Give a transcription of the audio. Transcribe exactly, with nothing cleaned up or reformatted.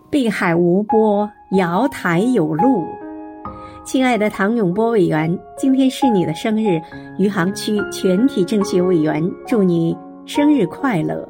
碧海无波，瑶台有路。亲爱的唐永波委员，今天是你的生日，余杭区全体政协委员祝你生日快乐。